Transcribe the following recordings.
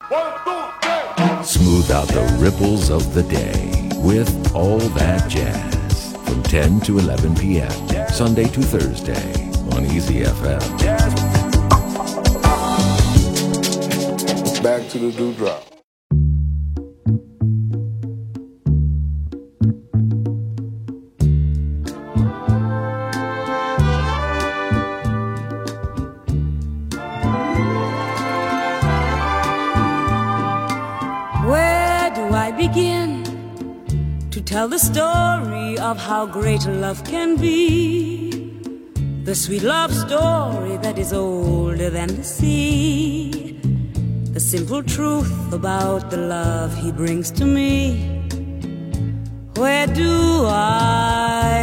Smooth out the ripples of the day with All That Jazz from 10 to 11 p.m. Sunday to Thursday on Easy FM. Back to the dewdrop. Begin to tell the story of how great love can be, the sweet love story that is older than the sea, the simple truth about the love he brings to me. Where do I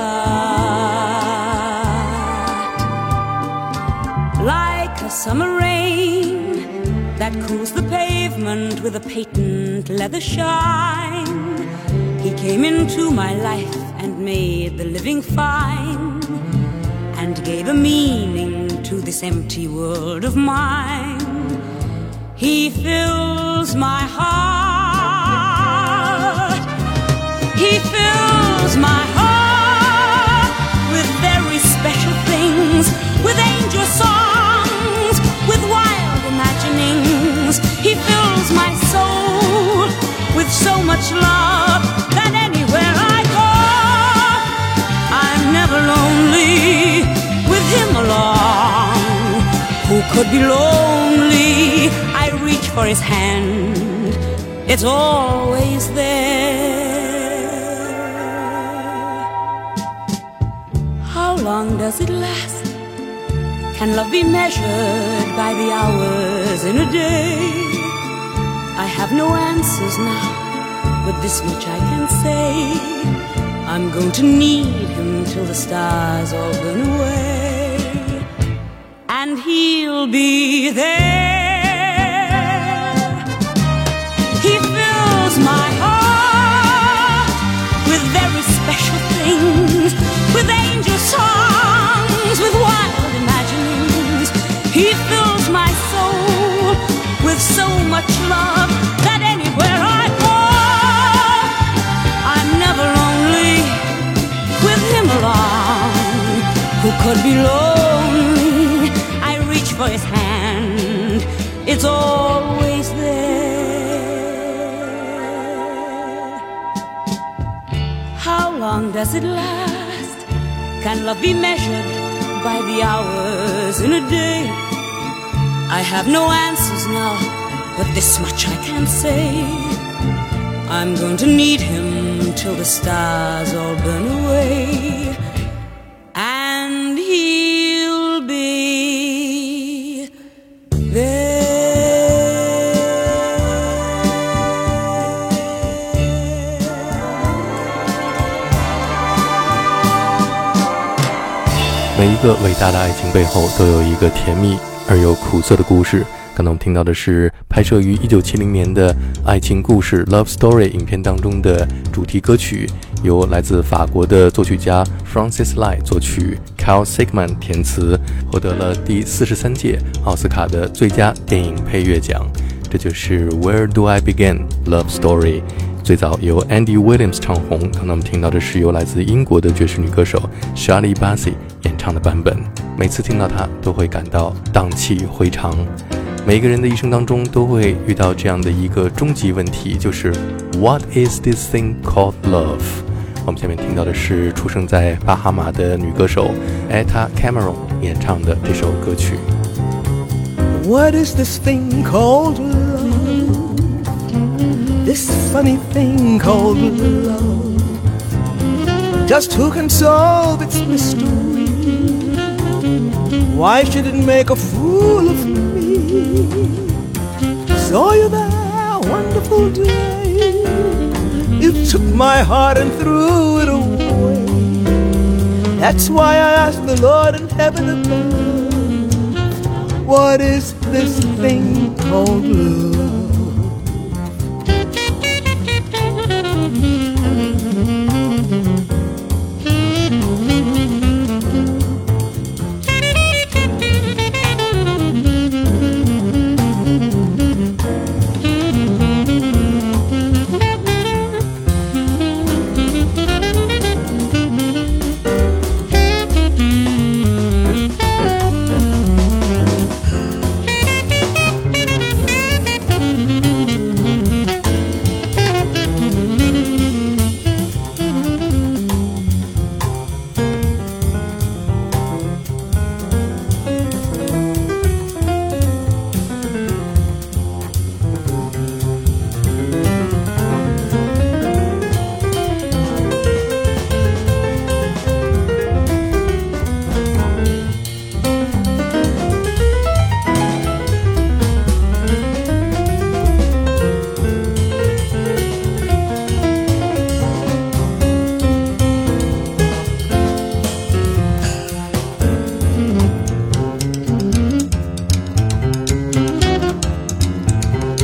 start? Like a summer rain that cools the pavement with a patent leather shine, he came into my life and made the living fine, and gave a meaning to this empty world of mine. He fills my heart, he fills my heart with very special things, with angel songs, with wild imaginings. He fills my soul with so much love that anywhere I go, I'm never lonely with him along. Who could be lonely? I reach for his hand, it's always there. How long does it last? Can love be measured by the hours in a day? I have no answers now, but this much I can say: I'm going to need him till the stars all burn away, and he'll be there. He fills my heart with very special things, with angel songs, with wild imaginings. He fills my soul with so much love that anywhere I go, I'm never lonely with him along. Who could be lonely? I reach for his hand, it's always there. How long does it last? Can love be measured by the hours in a day? I have no answers now, but this much I can say: I'm going to need him till the stars all burn away, and he'll be there. 每一个伟大的爱情背后都有一个甜蜜而又苦涩的故事。刚才我们听到的是拍摄于1970年的爱情故事 Love Story 影片当中的主题歌曲，由来自法国的作曲家 Francis Lai 作曲， Carl Sigman 填词，获得了第43届奥斯卡的最佳电影配乐奖。这就是 Where Do I Begin Love Story， 最早由 Andy Williams 唱红。刚才我们听到的是由来自英国的爵士女歌手 Shirley Bassey 演唱的版本。每次听到它都会感到荡气回肠。每一个人的一生当中都会遇到这样的一个终极问题，就是 What is this thing called love？ 我们下面听到的是出生在巴哈马的女歌手 Etta Cameron 演唱的这首歌曲。 What is this thing called love? This funny thing called love. Just who can solve its mystery? Why should it make a fool of me? Saw you that wonderful day. You took my heart and threw it away. That's why I asked the Lord in heaven above, what is this thing called love?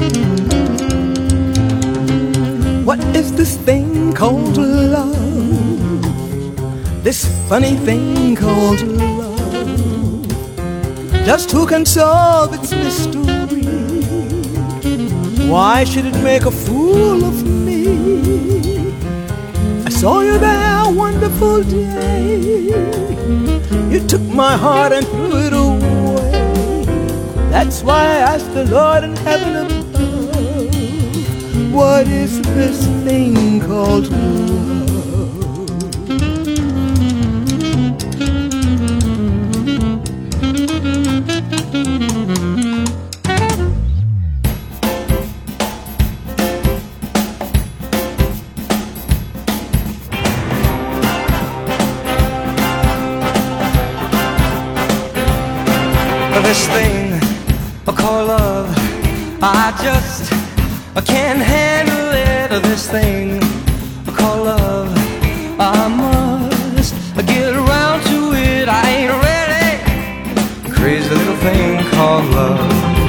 What is this thing called love? This funny thing called love. Just who can solve its mystery? Why should it make a fool of me? I saw you there, wonderful day. You took my heart and threw it away. That's why I asked the Lord in heaven above, what is this thing called love? This thing called love, I just can't handle it. This thing called love, I must get around to it. I ain't ready. Crazy little thing called love.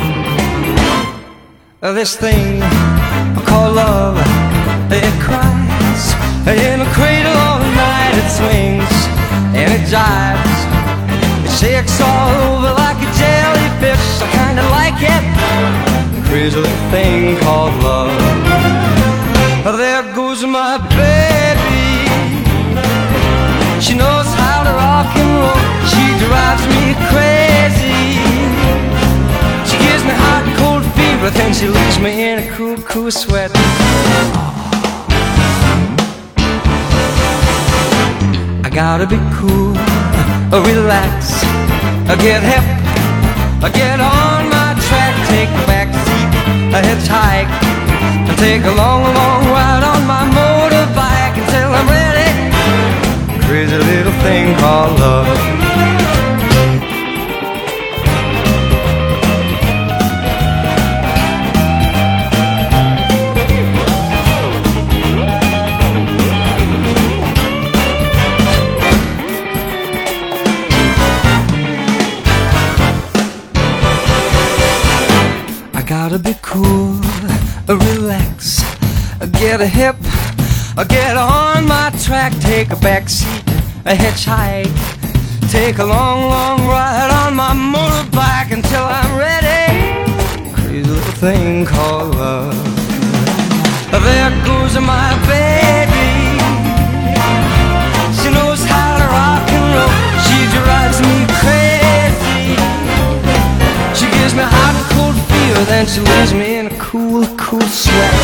This thing called love, it cries in a cradle all night. It swings and it jives, it shakes all over like a jellyfish. I kinda like it. Crazy little thing called love. There goes my baby. She knows how to rock and roll. She drives me crazy. She gives me hot and cold fever, then she leaves me in a cool, cool sweat. I gotta be cool, relax, get hip, get on my track, take a back seat, hitchhike, take a long, long ride on my motorbike until I'm ready. Crazy little thing called love. Gotta be cool, relax, get a hip, get on my track, take a back seat, a hitchhike, take a long, long ride on my motorbike until I'm ready. Crazy little thing called love. There goes my baby. She knows how to rock and roll. She drives me crazy. She gives me hot and cold fever, then she leaves me in a cool, cool sweat.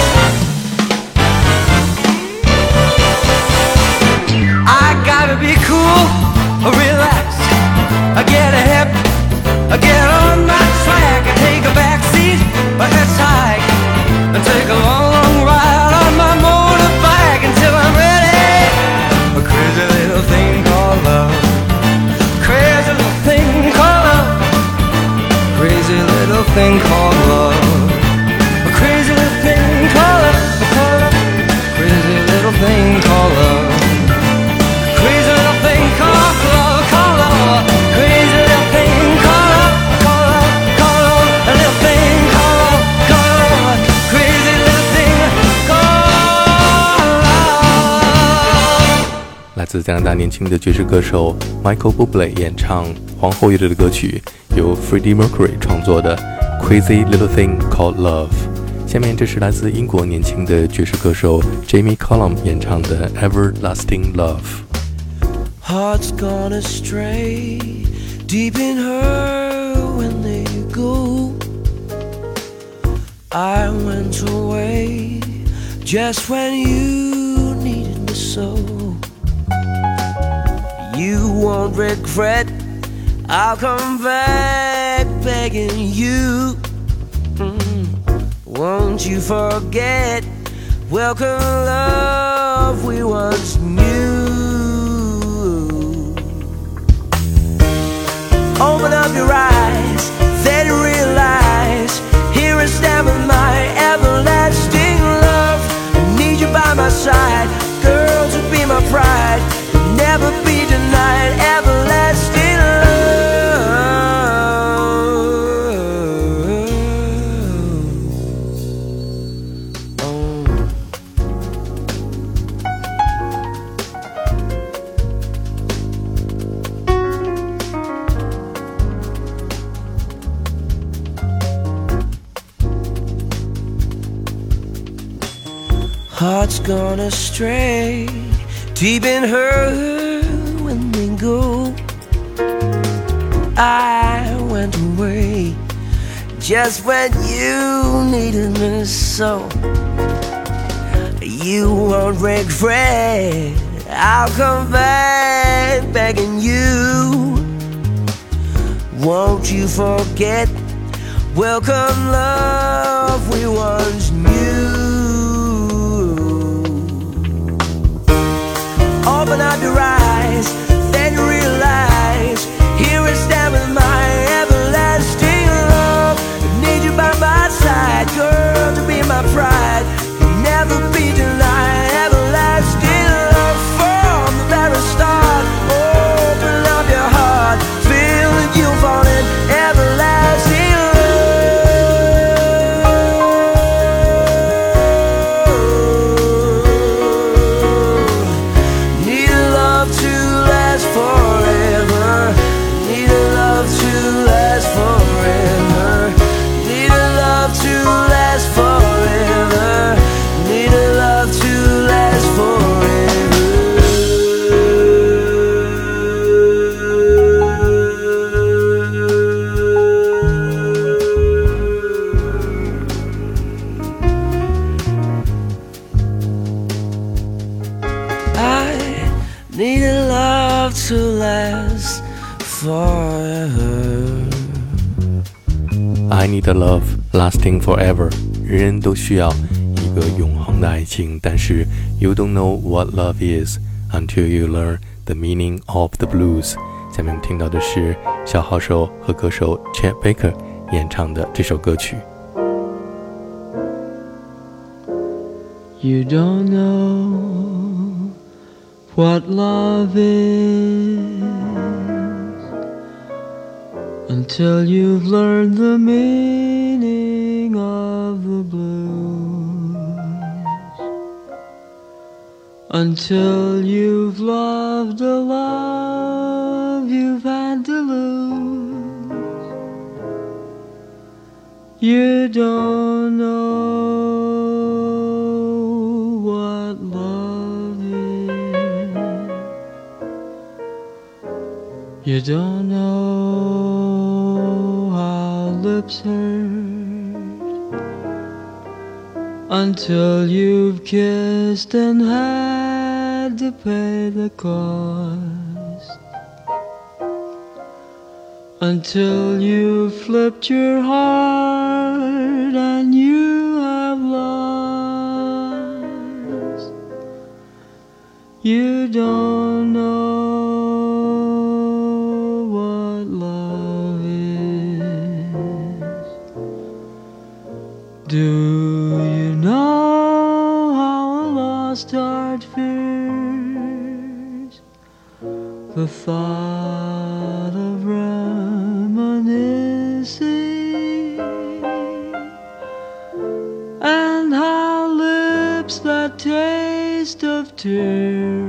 I gotta be cool, relax, get a hip, get on my track, take a back seat, a hitchhike, and take a long, long ride on my motorbike until I'm ready. A crazy little thing called love. Crazy little thing called love. Crazy little thing called love. A crazy little thing called love. Crazy little thing called love. Crazy little thing called love, called love. Crazy little thing called love, called love, called love. A little thing called love, called love. Crazy little thing called love. 来自加拿大年轻的爵士歌手 Michael Bublé 演唱皇后乐队的歌曲，由 Freddie Mercury 创作的 Crazy Little Thing Called Love。下面这是来自英国年轻的爵士歌手 Jamie Cullum 演唱的 Everlasting Love。Hearts gone astray, deep in her when they go. I went away just when you needed me so. You won't regret, I'll come back begging you. Won't you forget, welcome love we once knew. Open up your eyes, then realize, here I stand with my everlasting love. I need you by my side, girl, to be my pride, never be denied, everlasting love. heart's gone astray, deep in her when they go. I went away just when you needed me so. You won't regret, I'll come back begging you. Won't you forget, welcome love we once knew. Open up your eyes, then you realize, here I stand with my everlasting love. I need you by my side, girl, to be my pride. You'll never be denied, everlasting love from the very start. Open up your heart, feel that you'll fall in everlasting love. Need a love to last forever. Need a love to last forever. Need a love to last forever. Need a love to last forever. I need a love to last forever. I need a love lasting forever. 人人都需要一个永恒的爱情，但是 you don't know what love is until you learn the meaning of the blues。下面我们听到的是小号手和歌手 Chet Baker 演唱的这首歌曲。 You don't know what love is until you've learned the meaning of the blues, until you've loved a love you've had to lose. You don't know what love is. You don't know how lips hurt until you've kissed and had to pay the cost, until you've flipped your heart and you have lost. You don't know what love is. Do you know how a lost heart fears the thought of reminiscing, and how lips that taste of tears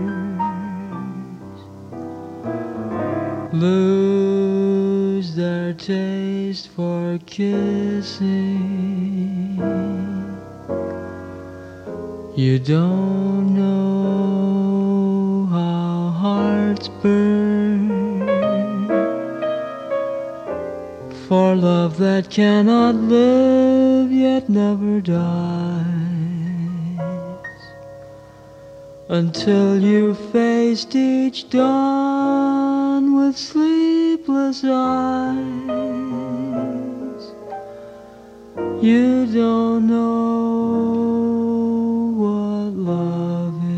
lose their taste for kissing? You don't know how hearts burn for love that cannot live yet never dies, until you faced each dawn with sleepless eyes. You don't know what love is.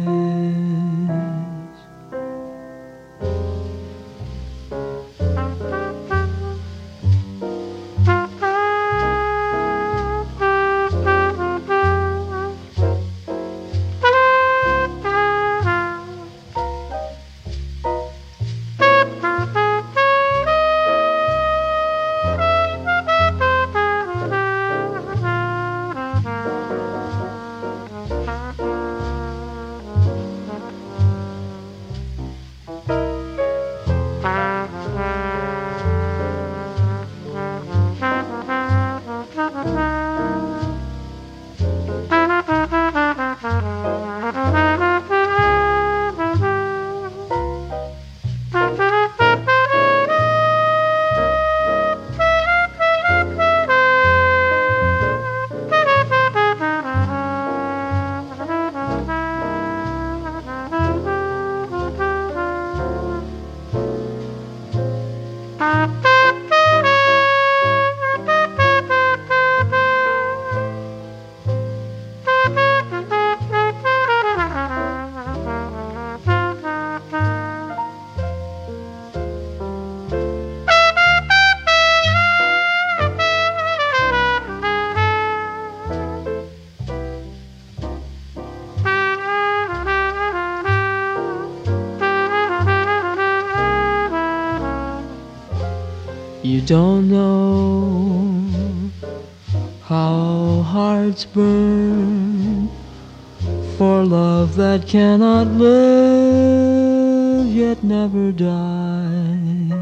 don't know how hearts burn for love that cannot live yet never dies,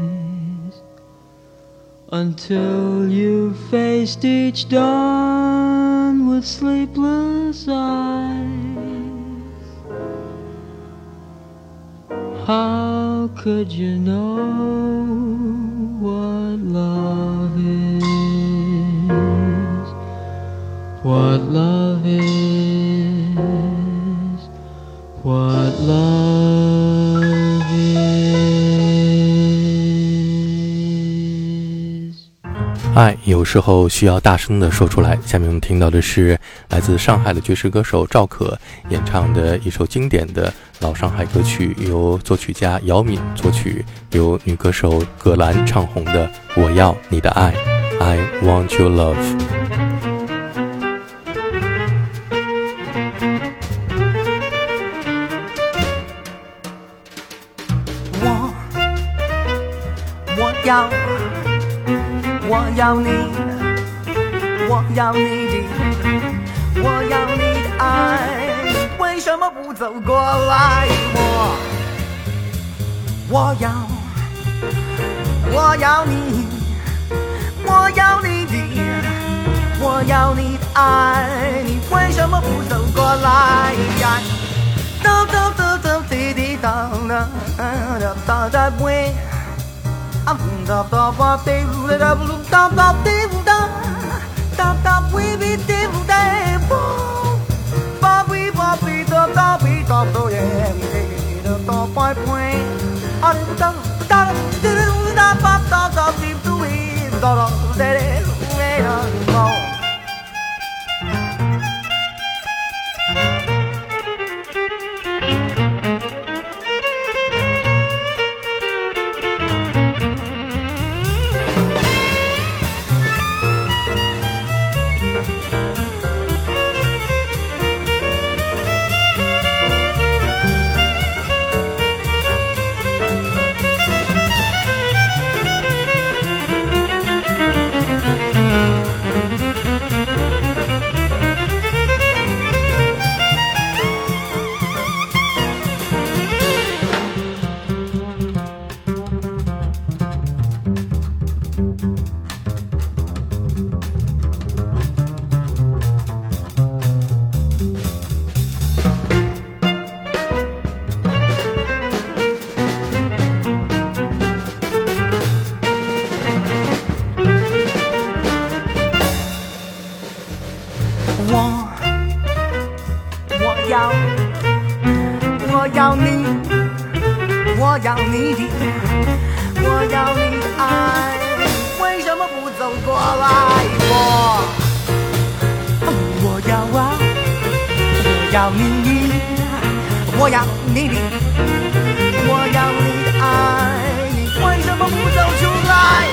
until you've faced each dawn with sleepless eyes. How could you know what love is? What love is? What love is? 爱有时候需要大声地说出来。下面我们听到的是来自上海的爵士歌手赵可演唱的一首经典的老上海歌曲，由作曲家姚敏作曲，由女歌手葛兰唱红的《我要你的爱》 I Want Your Love。 我要你，我要你的，我要你的爱，为什么不走过来？我要你，我要你的，我要你的爱，你为什么不走过来？哒哒哒哒滴滴哒哒哒哒哒喂。I'm da da ba de da da da da de da da da we be de da ba we ba be da da be da do yeah da da ba point ah da da da ba da da be do we da da da da 我要你，我要你的，我要你的爱，为什么不走过来？我要啊，我要你，我要你的，我要你的爱，你为什么不走出来？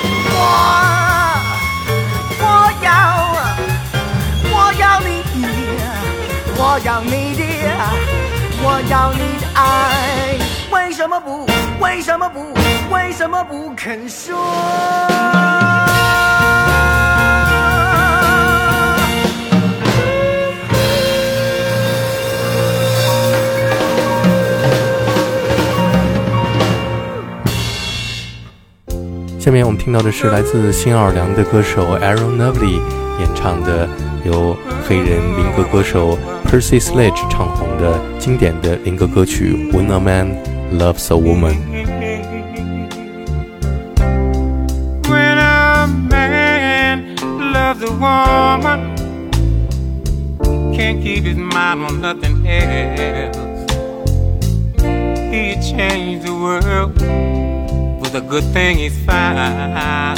我要你，我要你的，我要你的爱，为什么不，为什么不，为什么不肯说？ 下面我们听到的是来自新奥尔良的歌手 Aaron Neville 演唱的由黑人灵歌歌手 Percy Sledge 唱红的经典的灵歌歌曲 When a Man Loves a Woman。 When a man loves a woman, can't keep his mind on nothing else. He changed the world, a good thing he's found.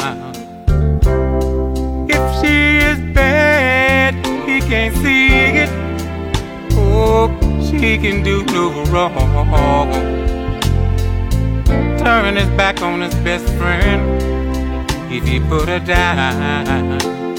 If she is bad, he can't see it. Oh, she can do no wrong. Turn his back on his best friend if he put her down.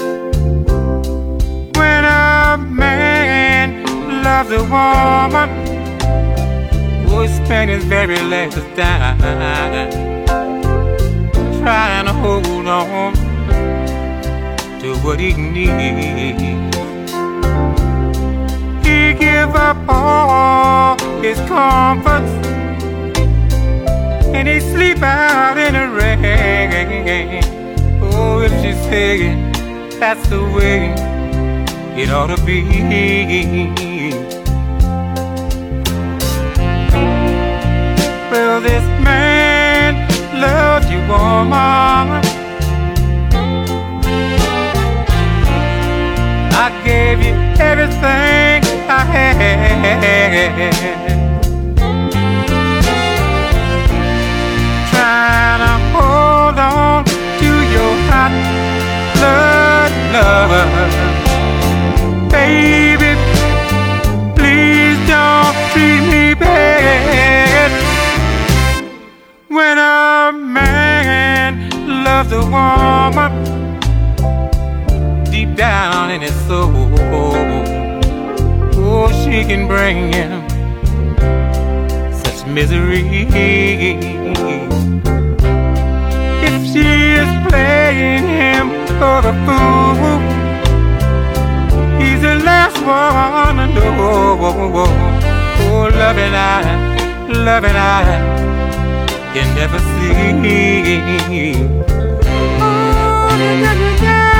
When a man loves a woman, oh, he spent his very last dime trying to hold on to what he needs. He give up all his comforts and he sleep out in the rain. Oh, if she's saying that's the way it ought to be. Well, this man loves you, woman. I gave you everything I had, trying to hold on to your hot blood love. Baby, please don't treat me bad. When a man loves a woman deep down in his soul, oh, she can bring him such misery. If she is playing him for the fool, he's the last one to know. Oh, loving I can never see. Oh,